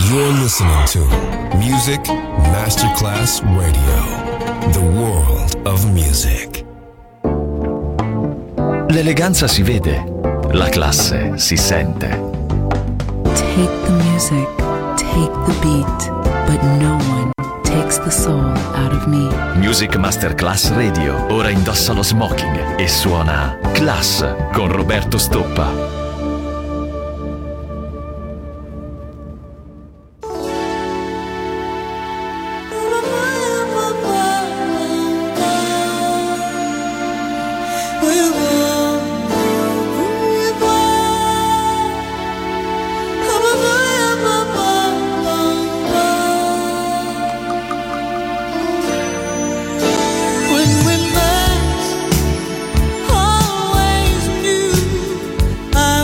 You're listening to Music Masterclass Radio, the world of music. L'eleganza si vede, la classe si sente. Take the music, take the beat, but no one takes the soul out of me. Music Masterclass Radio ora indossa lo smoking e suona Class con Roberto Stoppa. Always knew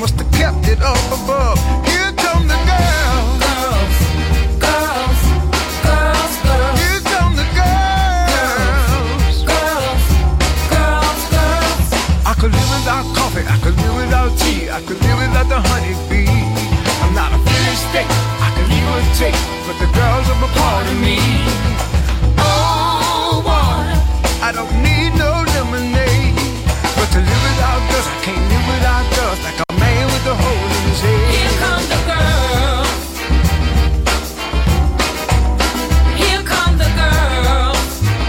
must have kept it up above. Here come the girls. Girls, girls, girls, girls. Here come the girls. Girls, girls, girls. I could live without coffee, I could live without tea, I could live without the honeybee. I'm not a finished state, I can leave or take, but the girls are a part of me. Oh, water, I don't need no lemonade, but to live without girls, I can't live without girls, like a man with a hole in his head. Here come the girls. Here come the girls.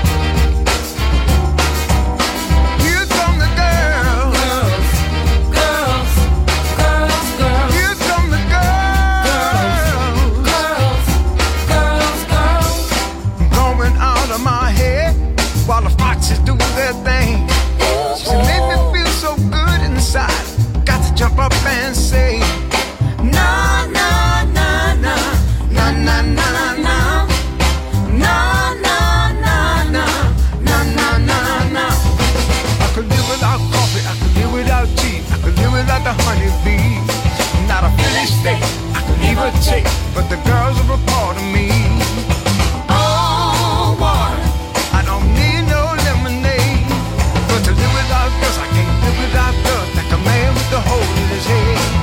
Here come the girls. Girls, girls, girls, girls. Here come the girls. Girls, girls, girls. I'm going out of my head while the foxes do their thing. She made me feel so good inside. Got to jump up and say, na na na na na na na na na na na na na na na na. I could live without coffee, I could live without tea, I could live without the honeybee. I'm not a finished state, I could leave or take, but the girls are a part of me. Oh, water, I don't need no lemonade, but to live without girls, I can't live without girls, like a man with a hole in his head.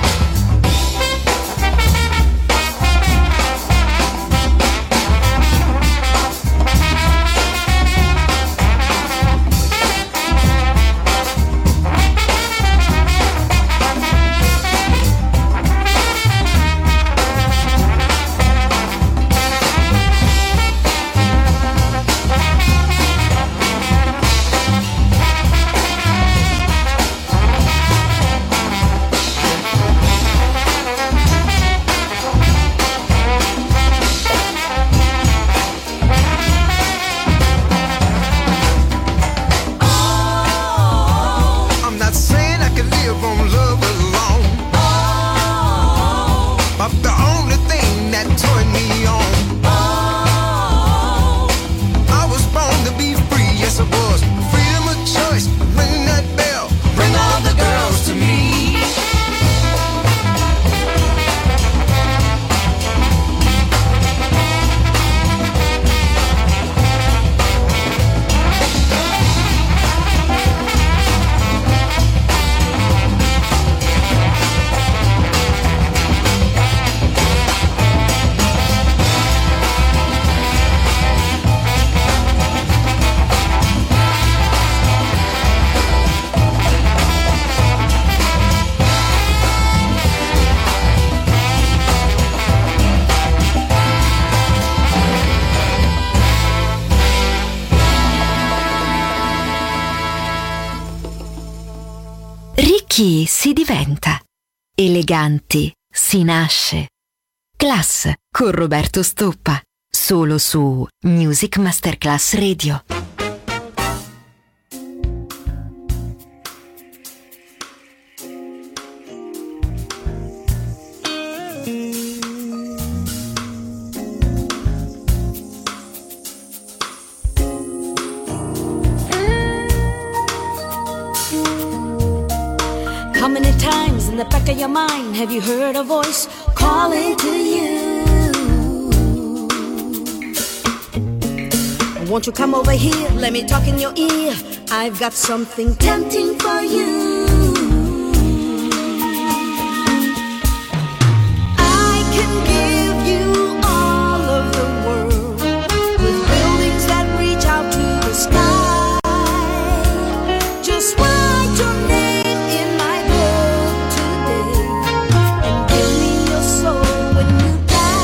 I'm not saying I can live on love alone, but the only thing that turned me on. I was born to be free, yes I was. Freedom of choice, ring that bell, bring all the girls to me. Ricchi si diventa, eleganti si nasce. Class con Roberto Stoppa, solo su Music Masterclass Radio. How many times in the back of your mind have you heard a voice calling to you? Won't you come over here, let me talk in your ear. I've got something tempting for you. I can give you all of the world, with buildings that reach out to the sky. Just write your name in my book today, and give me your soul when you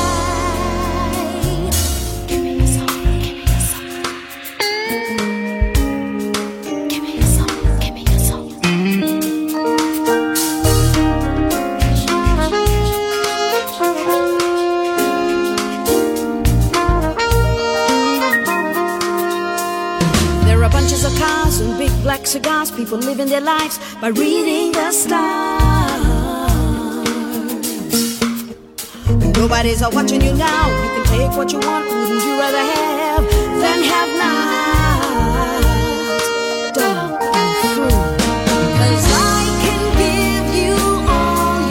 die. Give me your soul, give me your soul. Give me your soul, give me your soul. There are bunches of cars and big black cigars, people living their lives by reading the stars. Nobody's watching you now, you can take what you want. Wouldn't you rather have than have not? Don't be fool, 'cause I can give you all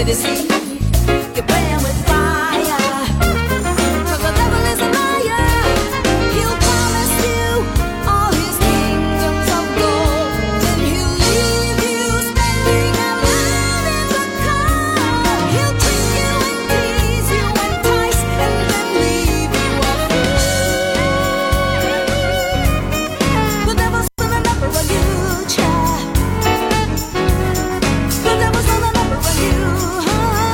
me deceive. You're playing with fire. 'Cause the devil is a liar. He'll promise you all his kingdoms of gold. Then he'll leave you standing alone in the cold. He'll trick you and tease you, entice, and then leave you a fool. The devil's gonna number on you, child. The devil's on the number on you, huh?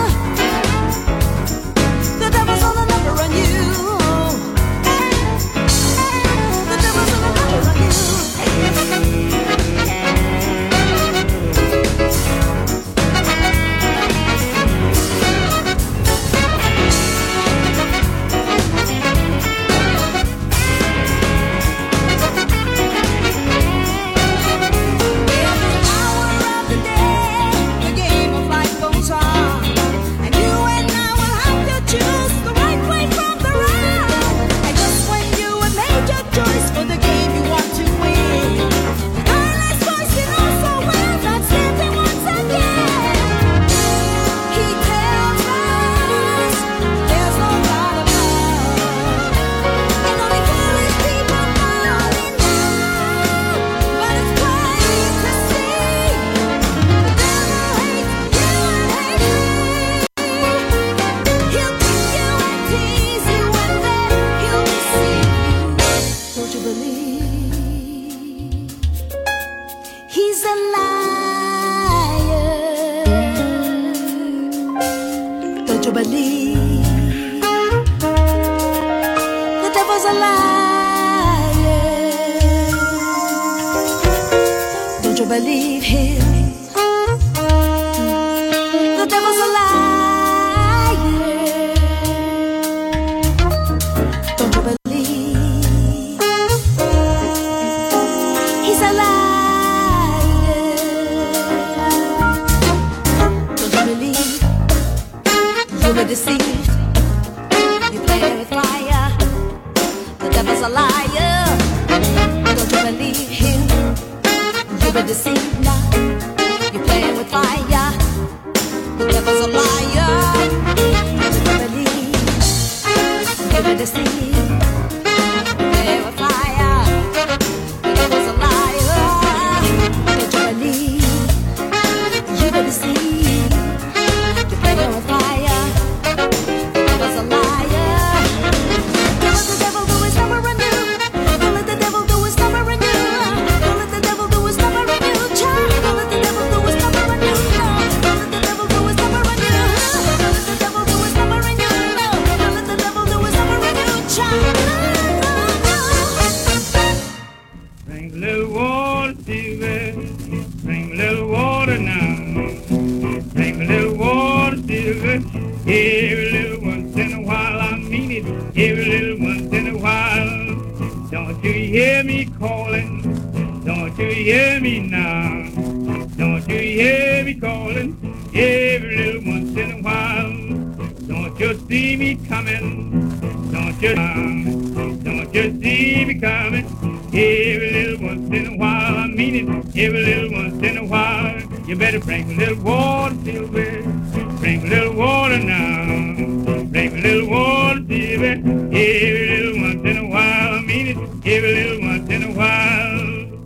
The devil's on the number on you. The devil's on the number on you. Every hour of the day, the game of life goes on, and you and I will have to choose the right way from the wrong. And just when you have made your choice for the game you want to win, the tireless voice you know so well not standing once again. He tells us there's no God above, and only foolish people fall in love. But it's plain to see the devil hates you and hates me. He'll trick you and tease you, and then he'll deceive you. Don't you believe he's a liar? Don't you believe the devil's a liar? Don't you believe him? The devil's a liar. Don't you believe he's a liar? Don't you believe you were deceived? You play with fire. The devil's a liar. Don't you believe him? You were deceived now. You're playing with fire. The devil's a liar. Don't you believe you were deceived? Playing with fire. The devil's a liar. Don't you believe you were deceived? You're playing with fire. The devil's a liar. Don't let the devil do his number on you. Don't let the devil do his number on you. Don't let the devil do his number on you, child. Don't let the devil do his number on you. Don't let the devil do his number on you. Don't let the devil do his number on you. Don't let the devil do his number on you, child. Bring a little water, Stevie. Bring a little water now. Bring a little water, Stevie. Every little once in a while, I mean it. Every little once in a while. Don't you hear me calling? Don't you hear me now? Don't you hear me calling? Every little once in a while. Don't you see me coming? Don't you see me coming? Every little once in a while, I mean it. Every little once in a while, you better bring a little water, Silver. Bring a little water now. Bring a little water, Silver. Every little once in a while, I mean it. Every little once in a while.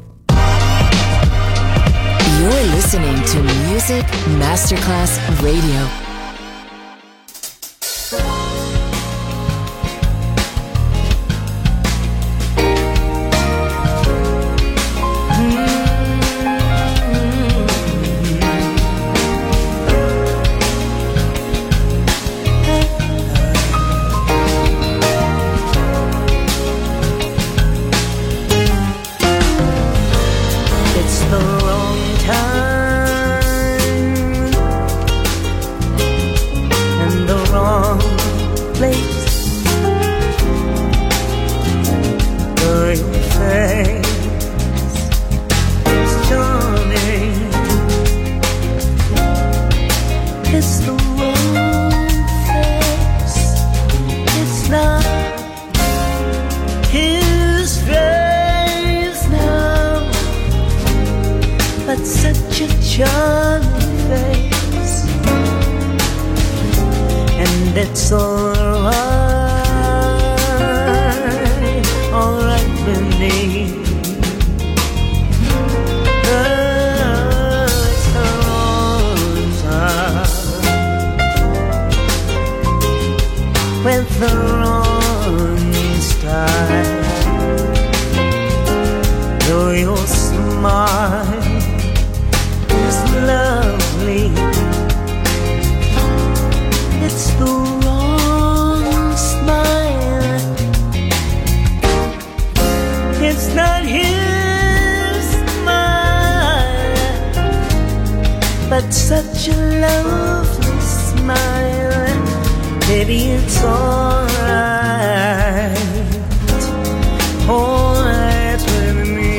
You're listening to Music Masterclass Radio. It's the wrong time and the wrong place. Your face is charming. It's the wrong face. It's not his face now, but such a charming face. and it's alright with me. It's the wrong time with the wrong style. Though your smile is lovely, it's the wrong smile. It's not his smile, but such a lovely smile. Baby, it's alright, alright with me.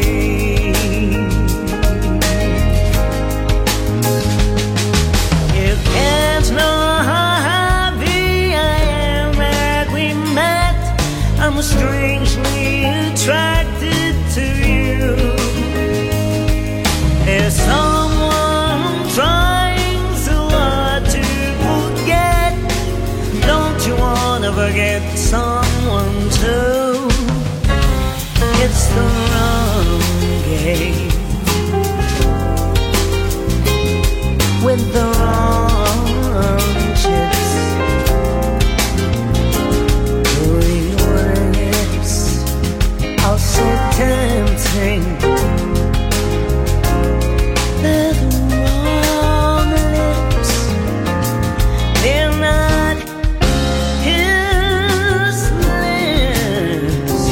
You can't know how happy I am that we met. I'm strangely attracted to you. There's someone trying so hard to forget. Don't you wanna forget someone too? It's the wrong game with the wrong chips. Your lips are so tempting. They're the wrong lips. They're not his lips,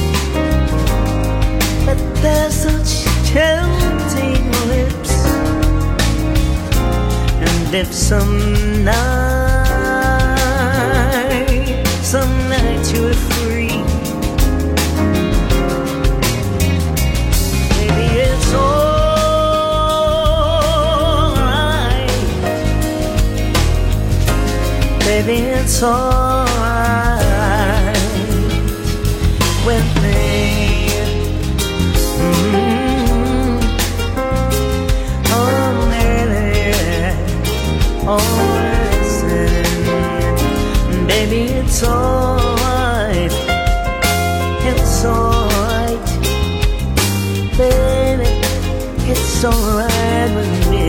but they're such tempting lips. And if some night you're free, maybe it's alright. Baby, it's alright with me. Oh, baby, oh, listen, baby, it's alright. It's alright, baby, it's alright with me.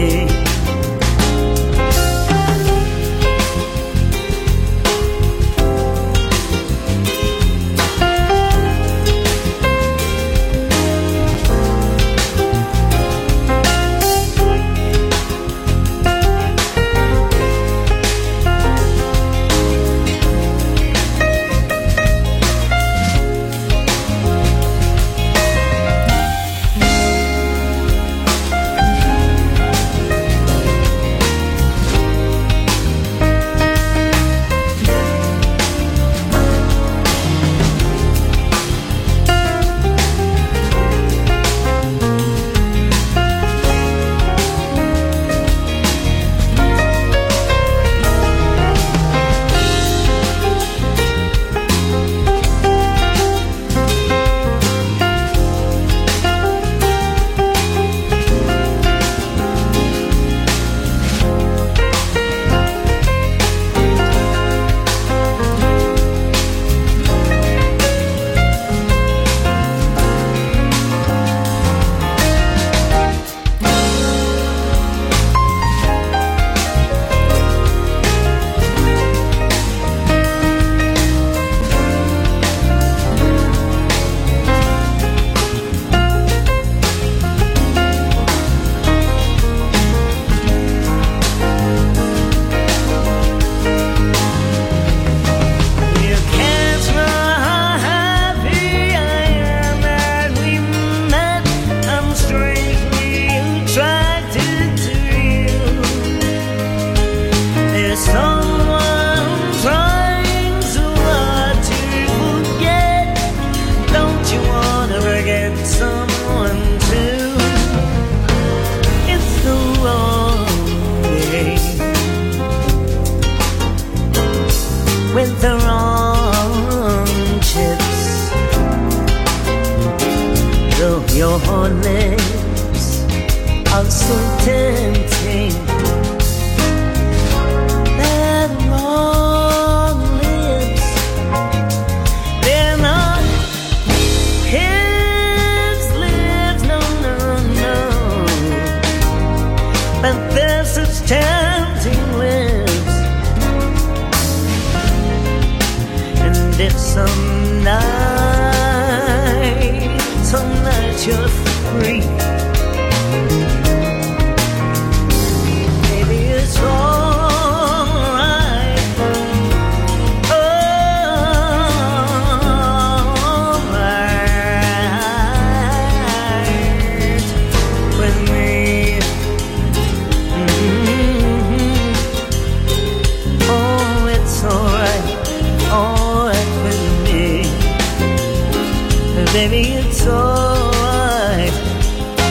but there's such tempting winds, and it's some night you're free. Maybe it's alright, alright with me. Oh, it's alright with me. Baby, it's alright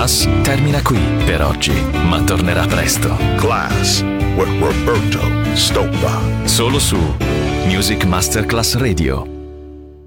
Class termina qui per oggi, ma tornerà presto. Class with Roberto Stoppa. Solo su Music Masterclass Radio.